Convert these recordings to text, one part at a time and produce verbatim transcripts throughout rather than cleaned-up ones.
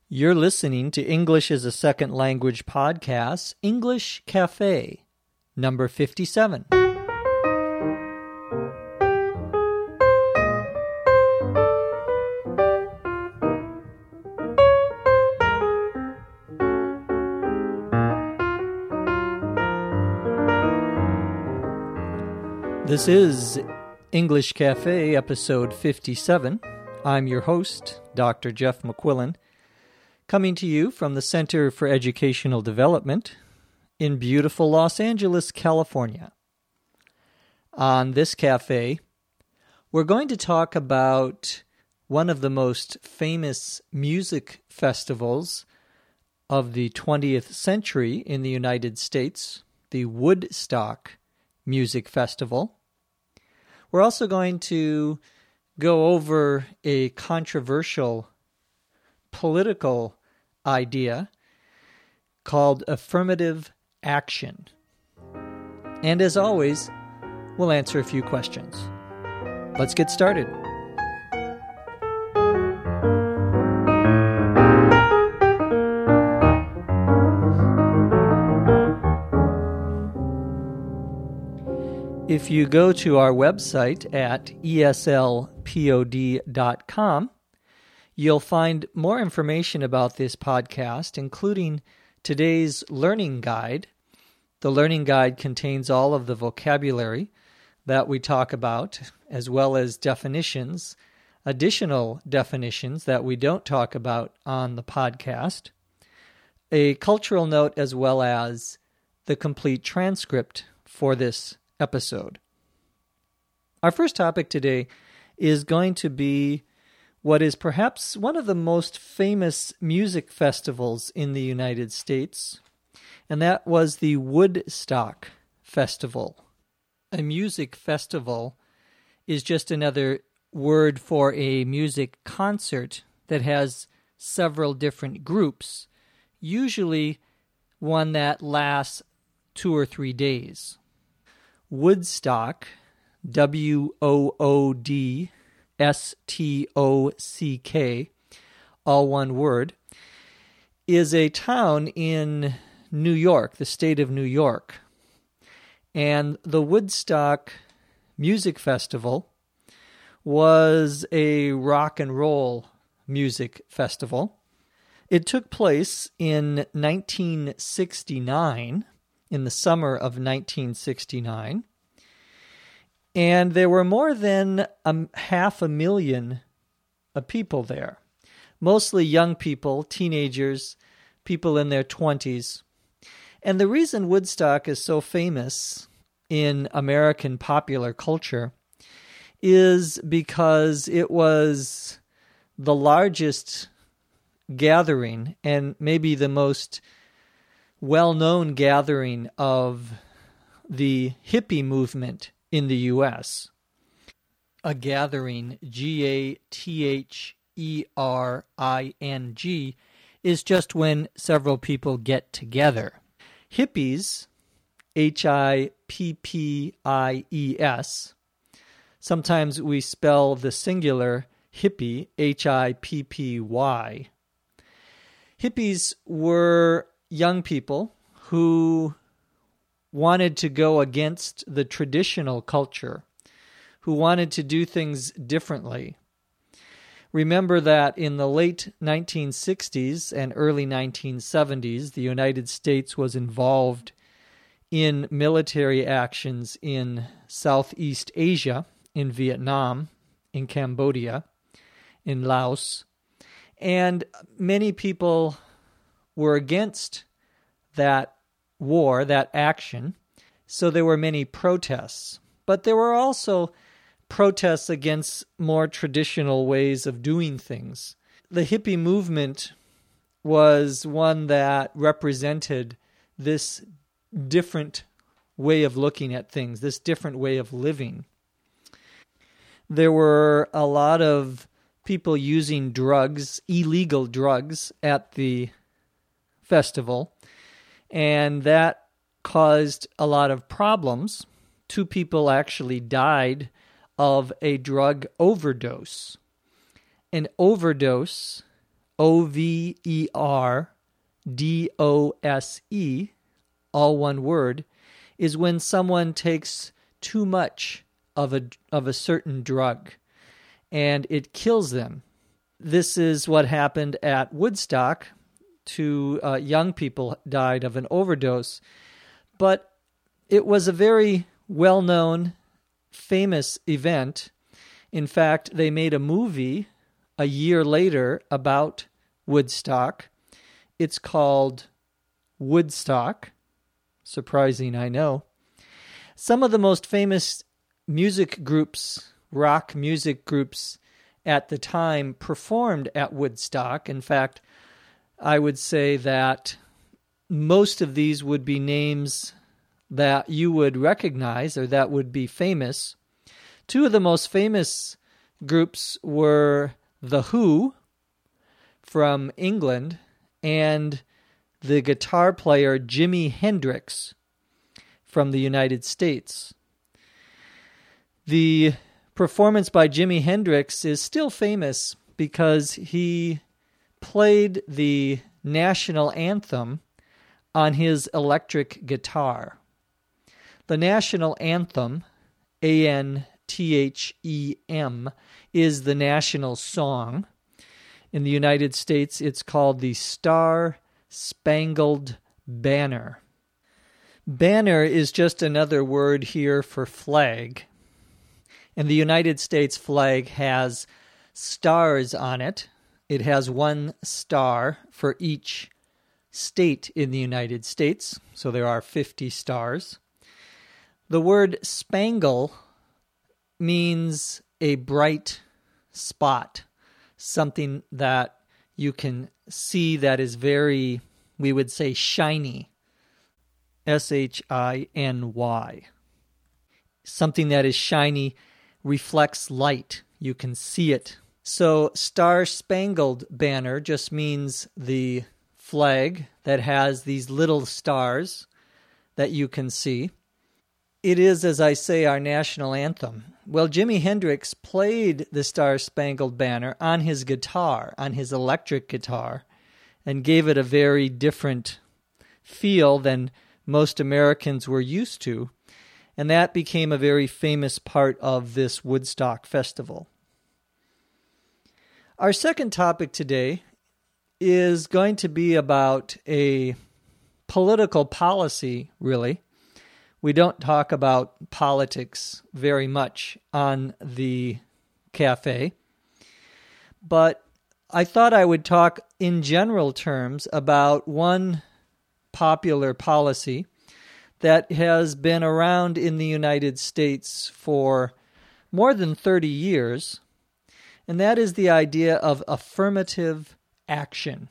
You're listening to English as a Second Language podcast, English Cafe, number fifty-seven. This is English Cafe, episode fifty-seven. I'm your host, Doctor Jeff McQuillan, coming to you from the Center for Educational Development in beautiful Los Angeles, California. On this cafe, we're going to talk about one of the most famous music festivals of the twentieth century in the United States, the Woodstock Music Festival. We're also going to go over a controversial political idea called affirmative action. And as always, we'll answer a few questions. Let's get started. If you go to our website at E S L pod dot com, you'll find more information about this podcast, including today's learning guide. The learning guide contains all of the vocabulary that we talk about, as well as definitions, additional definitions that we don't talk about on the podcast, a cultural note, as well as the complete transcript for this episode. Our first topic today is going to be what is perhaps one of the most famous music festivals in the United States, and that was the Woodstock Festival. A music festival is just another word for a music concert that has several different groups, usually one that lasts two or three days. Woodstock, W O O D S T O C K, all one word, is a town in New York, the state of New York. And the Woodstock Music Festival was a rock and roll music festival. It took place in nineteen sixty-nine, in the summer of nineteen sixty-nine, and there were more than a half a million of people there, mostly young people, teenagers, people in their twenties. And the reason Woodstock is so famous in American popular culture is because it was the largest gathering and maybe the most well-known gathering of the hippie movement in the U S. A gathering, G A T H E R I N G, is just when several people get together. Hippies, H I P P I E S, sometimes we spell the singular hippie, H I P P Y. Hippies were young people who wanted to go against the traditional culture, who wanted to do things differently. Remember that in the late nineteen sixties and early nineteen seventies, the United States was involved in military actions in Southeast Asia, in Vietnam, in Cambodia, in Laos, and many people were against that war, that action, so there were many protests. But there were also protests against more traditional ways of doing things. The hippie movement was one that represented this different way of looking at things, this different way of living. There were a lot of people using drugs, illegal drugs, at the festival, and that caused a lot of problems. Two people actually died of a drug overdose. An overdose O V E R D O S E, all one word, is when someone takes too much of a, of a certain drug and it kills them. This is what happened at Woodstock. Two uh, young people died of an overdose. But it was a very well-known, famous event. In fact, they made a movie a year later about Woodstock. It's called Woodstock. Surprising, I know. Some of the most famous music groups, rock music groups at the time, performed at Woodstock. In fact, I would say that most of these would be names that you would recognize or that would be famous. Two of the most famous groups were The Who from England and the guitar player Jimi Hendrix from the United States. The performance by Jimi Hendrix is still famous because he played the national anthem on his electric guitar. The national anthem, A N T H E M, is the national song. In the United States, it's called the Star-Spangled Banner. Banner is just another word here for flag. And the United States flag has stars on it. It has one star for each state in the United States, so there are fifty stars. The word spangle means a bright spot, something that you can see that is very, we would say, shiny. S H I N Y. Something that is shiny reflects light. You can see it. So Star-Spangled Banner just means the flag that has these little stars that you can see. It is, as I say, our national anthem. Well, Jimi Hendrix played the Star-Spangled Banner on his guitar, on his electric guitar, and gave it a very different feel than most Americans were used to. And that became a very famous part of this Woodstock festival. Our second topic today is going to be about a political policy, really. We don't talk about politics very much on the cafe, but I thought I would talk in general terms about one popular policy that has been around in the United States for more than thirty years, and that is the idea of affirmative action.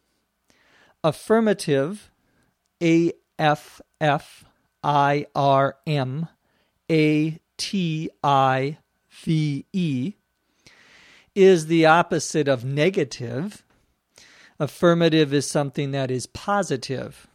Affirmative, A F F I R M A T I V E, is the opposite of negative. Affirmative is something that is positive.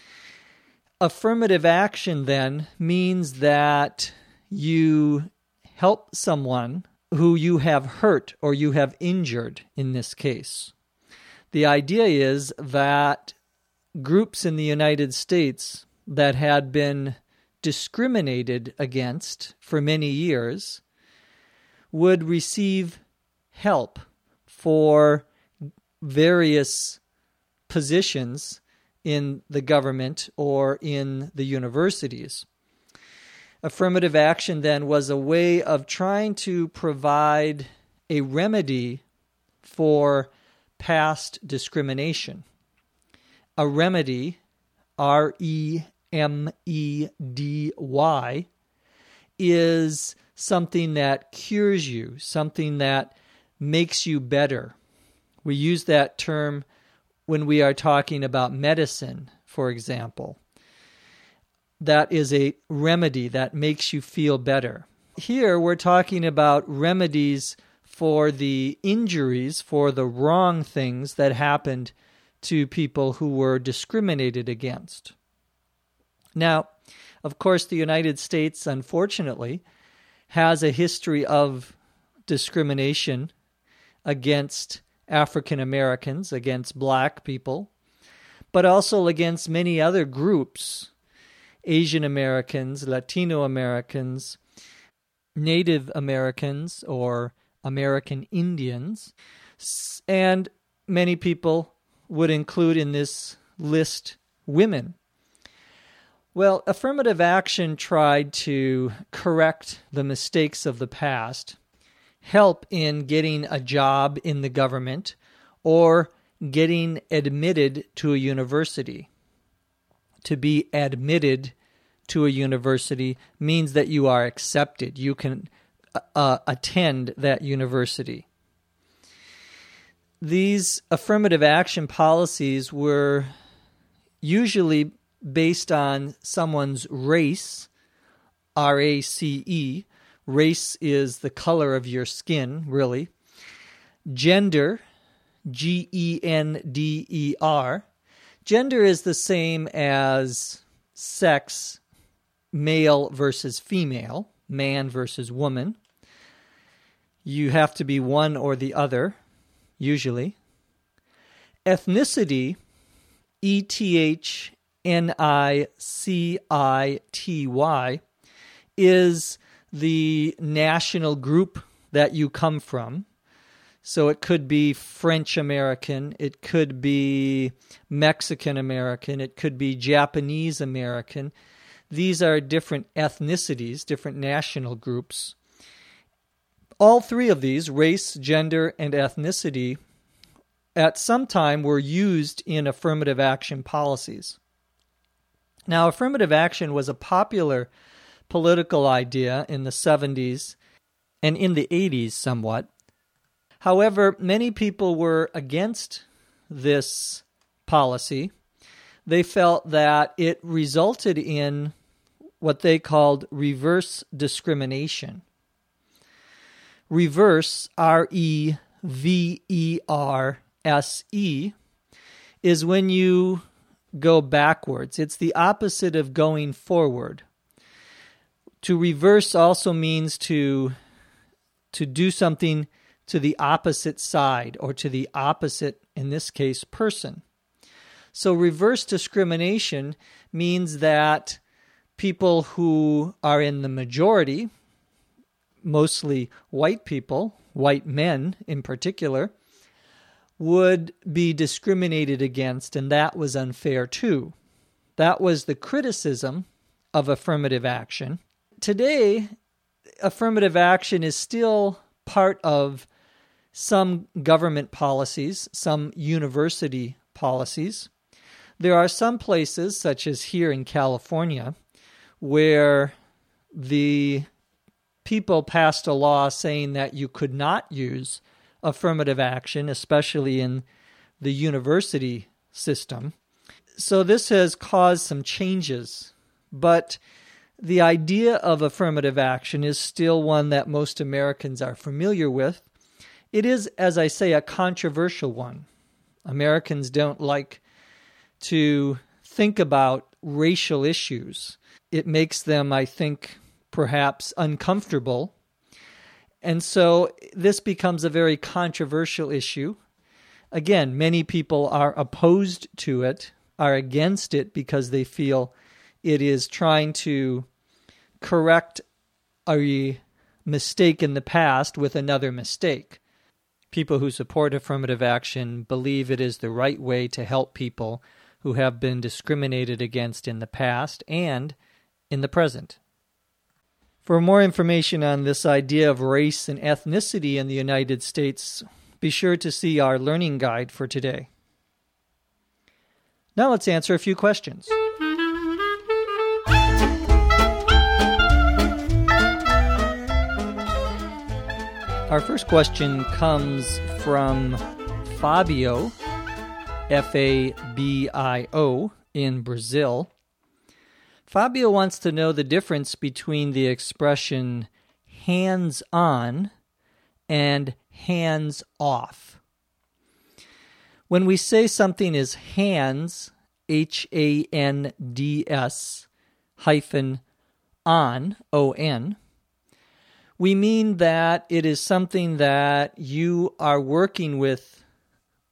Affirmative action, then, means that you help someone who you have hurt or you have injured in this case. The idea is that groups in the United States that had been discriminated against for many years would receive help for various positions in the government or in the universities. Affirmative action then was a way of trying to provide a remedy for past discrimination. A remedy, R E M E D Y, is something that cures you, something that makes you better. We use that term when we are talking about medicine, for example. That is a remedy that makes you feel better. Here we're talking about remedies for the injuries, for the wrong things that happened to people who were discriminated against. Now, of course, the United States, unfortunately, has a history of discrimination against African Americans, against black people, but also against many other groups, Asian Americans, Latino Americans, Native Americans, or American Indians, and many people would include in this list women. Well, affirmative action tried to correct the mistakes of the past, help in getting a job in the government, or getting admitted to a university. To be admitted to a university means that you are accepted. You can uh, attend that university. These affirmative action policies were usually based on someone's race, R A C E. Race is the color of your skin, really. Gender, G E N D E R. Gender is the same as sex, male versus female, man versus woman. You have to be one or the other, usually. Ethnicity, E T H N I C I T Y, is the national group that you come from. So it could be French American, it could be Mexican American, it could be Japanese American. These are different ethnicities, different national groups. All three of these, race, gender, and ethnicity, at some time were used in affirmative action policies. Now, affirmative action was a popular political idea in the seventies and in the eighties somewhat. However, many people were against this policy. They felt that it resulted in what they called reverse discrimination. Reverse, R E V E R S E, is when you go backwards. It's the opposite of going forward. To reverse also means to, to do something to the opposite side, or to the opposite, in this case, person. So reverse discrimination means that people who are in the majority, mostly white people, white men in particular, would be discriminated against, and that was unfair too. That was the criticism of affirmative action. Today, affirmative action is still part of some government policies, some university policies. There are some places, such as here in California, where the people passed a law saying that you could not use affirmative action, especially in the university system. So this has caused some changes, but the idea of affirmative action is still one that most Americans are familiar with. It is, as I say, a controversial one. Americans don't like to think about racial issues. It makes them, I think, perhaps uncomfortable. And so this becomes a very controversial issue. Again, many people are opposed to it, are against it because they feel it is trying to correct a mistake in the past with another mistake. People who support affirmative action believe it is the right way to help people who have been discriminated against in the past and in the present. For more information on this idea of race and ethnicity in the United States, be sure to see our learning guide for today. Now let's answer a few questions. Our first question comes from Fabio, F A B I O, in Brazil. Fabio wants to know the difference between the expression hands-on and hands-off. When we say something is hands, H A N D S, hyphen on, O N, we mean that it is something that you are working with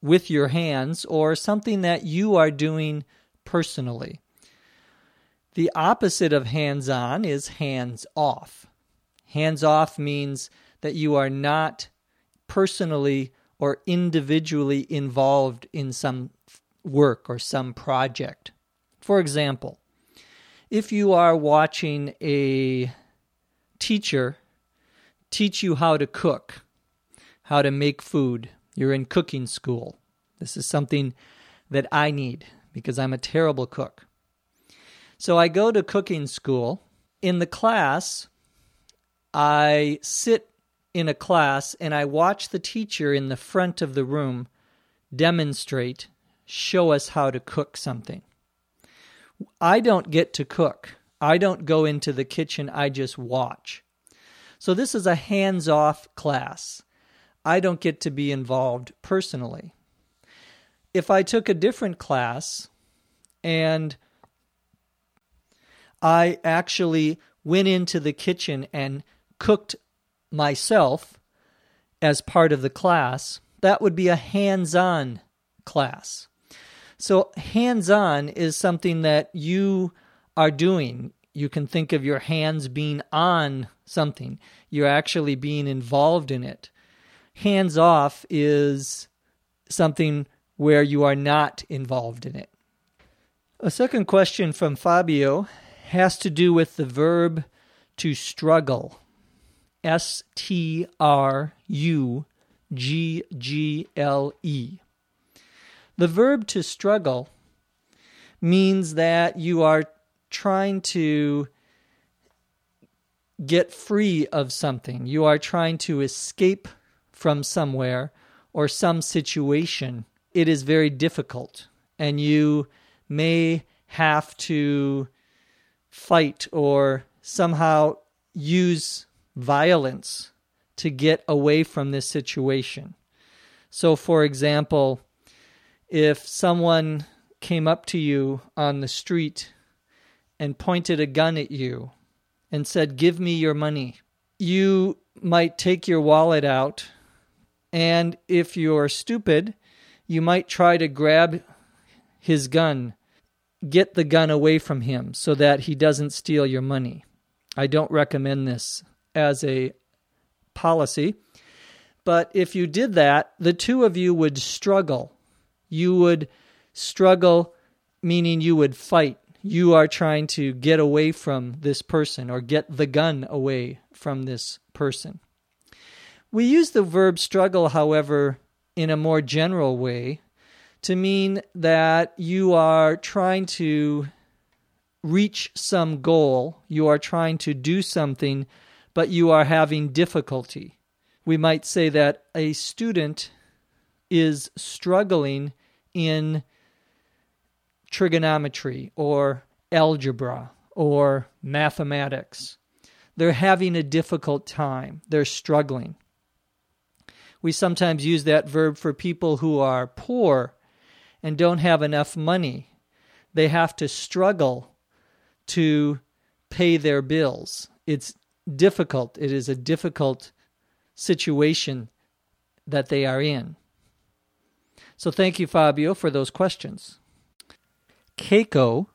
with your hands or something that you are doing personally. The opposite of hands-on is hands-off. Hands-off means that you are not personally or individually involved in some work or some project. For example, if you are watching a teacher teach you how to cook, how to make food, you're in cooking school. This is something that I need because I'm a terrible cook. So I go to cooking school. In the class, I sit in a class and I watch the teacher in the front of the room demonstrate, show us how to cook something. I don't get to cook. I don't go into the kitchen. I just watch. So this is a hands-off class. I don't get to be involved personally. If I took a different class and I actually went into the kitchen and cooked myself as part of the class, that would be a hands-on class. So hands-on is something that you are doing. You can think of your hands being on something. You're actually being involved in it. Hands-off is something where you are not involved in it. A second question from Fabio has to do with the verb to struggle. S T R U G G L E. The verb to struggle means that you are trying to get free of something. You are trying to escape from somewhere or some situation. It is very difficult, and you may have to fight or somehow use violence to get away from this situation. So, for example, if someone came up to you on the street and pointed a gun at you and said, "Give me your money," you might take your wallet out, and if you're stupid, you might try to grab his gun, get the gun away from him so that he doesn't steal your money. I don't recommend this as a policy, but if you did that, the two of you would struggle. You would struggle, meaning you would fight. You are trying to get away from this person or get the gun away from this person. We use the verb struggle, however, in a more general way to mean that you are trying to reach some goal, you are trying to do something, but you are having difficulty. We might say that a student is struggling in trigonometry or algebra or mathematics. They're having a difficult time. They're struggling. We sometimes use that verb for people who are poor and don't have enough money. They have to struggle to pay their bills. It's difficult. It is a difficult situation that they are in. So thank you, Fabio, for those questions. Keiko,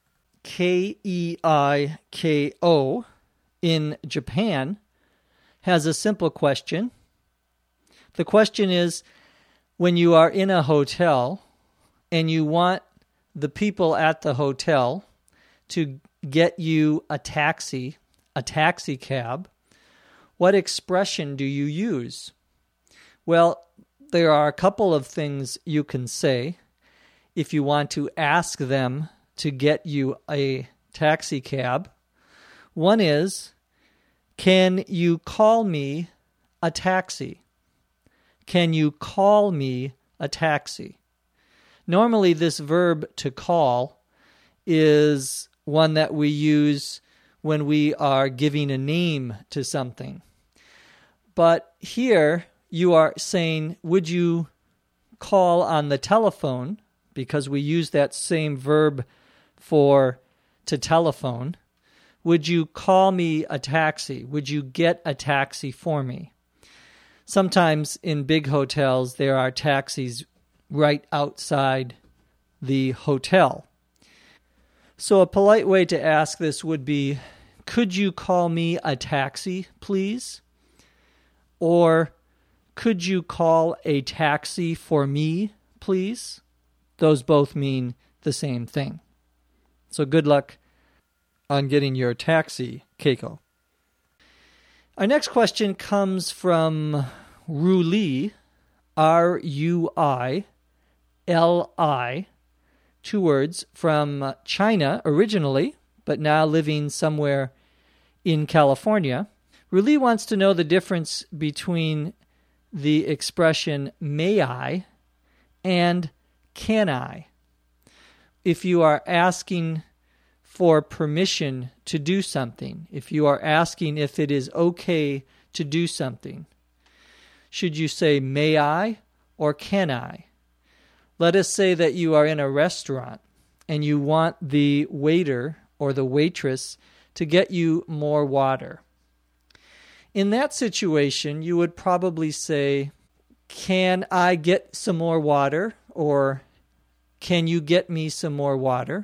K E I K O, in Japan, has a simple question. The question is, when you are in a hotel and you want the people at the hotel to get you a taxi, a taxi cab, what expression do you use? Well, there are a couple of things you can say if you want to ask them to get you a taxi cab. One is, can you call me a taxi? Can you call me a taxi? Normally, this verb to call is one that we use when we are giving a name to something. But here, you are saying, would you call on the telephone? Because we use that same verb for to telephone. Would you call me a taxi? Would you get a taxi for me? Sometimes in big hotels, there are taxis right outside the hotel. So a polite way to ask this would be, could you call me a taxi, please? Or, could you call a taxi for me, please? Those both mean the same thing. So good luck on getting your taxi, Keiko. Our next question comes from Ruli, R U I L I, two words, from China originally, but now living somewhere in California. Ruli wants to know the difference between the expression may I and can I. If you are asking for permission to do something, if you are asking if it is okay to do something, should you say may I or can I? Let us say that you are in a restaurant and you want the waiter or the waitress to get you more water. In that situation, you would probably say, can I get some more water? Or can you get me some more water?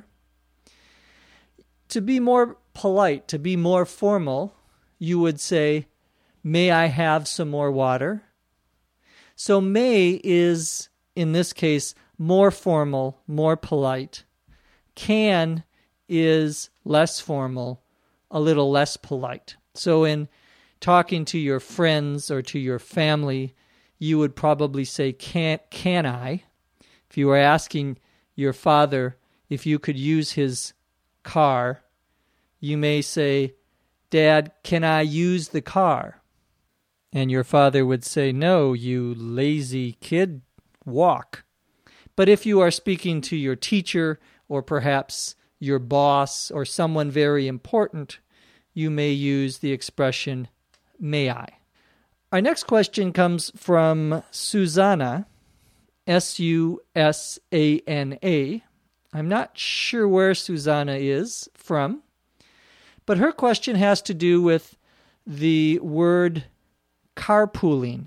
To be more polite, to be more formal, you would say, may I have some more water? So may is, in this case, more formal, more polite. Can is less formal, a little less polite. So in talking to your friends or to your family, you would probably say, can, can I? If you were asking your father if you could use his car, you may say, Dad, can I use the car? And your father would say, no, you lazy kid, walk. But if you are speaking to your teacher or perhaps your boss or someone very important, you may use the expression, may I? Our next question comes from Susanna, S U S A N A. I'm not sure where Susanna is from, but her question has to do with the word carpooling.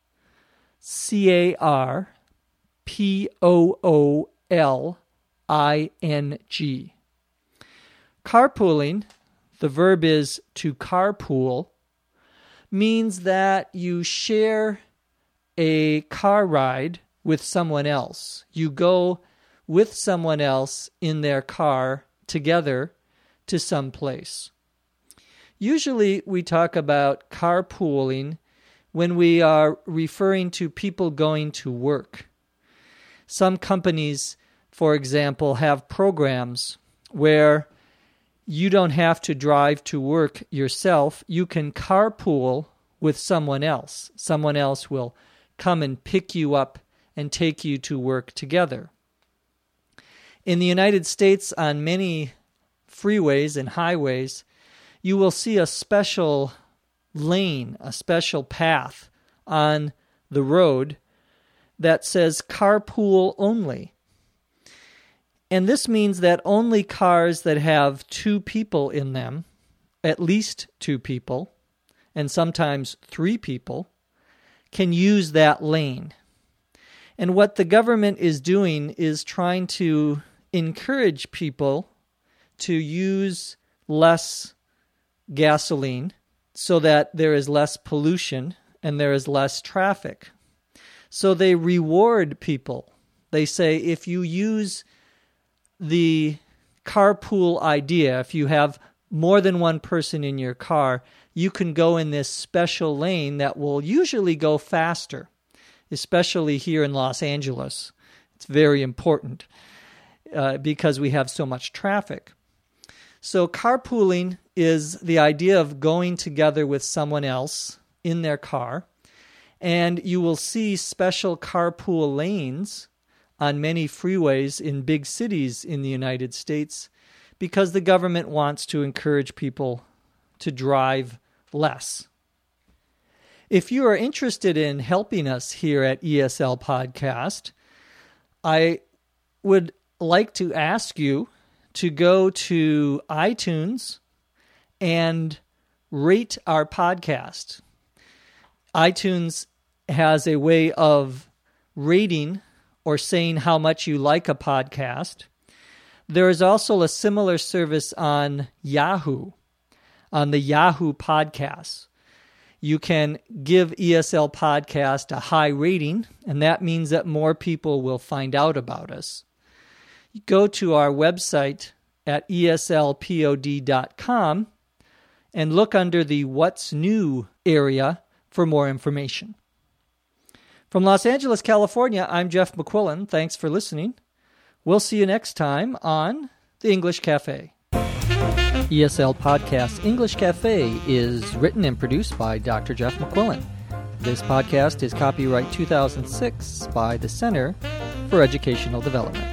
C A R P O O L I N G. Carpooling, the verb is to carpool, means that you share a car ride with someone else. You go with someone else in their car together to some place. Usually we talk about carpooling when we are referring to people going to work. Some companies, for example, have programs where you don't have to drive to work yourself. You can carpool with someone else. Someone else will come and pick you up and take you to work together. In the United States, on many freeways and highways, you will see a special lane, a special path on the road that says carpool only. And this means that only cars that have two people in them, at least two people, and sometimes three people, can use that lane. And what the government is doing is trying to encourage people to use less gasoline so that there is less pollution and there is less traffic. So they reward people. They say if you use the carpool idea, if you have more than one person in your car, you can go in this special lane that will usually go faster, especially here in Los Angeles. It's very important uh, because we have so much traffic. So carpooling is the idea of going together with someone else in their car, and you will see special carpool lanes on many freeways in big cities in the United States because the government wants to encourage people to drive less. If you are interested in helping us here at E S L Podcast, I would like to ask you to go to iTunes and rate our podcast. iTunes has a way of rating or saying how much you like a podcast. There is also a similar service on Yahoo, on the Yahoo Podcasts. You can give E S L Podcast a high rating, and that means that more people will find out about us. Go to our website at E S L pod dot com and look under the What's New area for more information. From Los Angeles, California, I'm Jeff McQuillan. Thanks for listening. We'll see you next time on The English Cafe. E S L Podcast English Cafe is written and produced by Doctor Jeff McQuillan. This podcast is copyright two thousand six by the Center for Educational Development.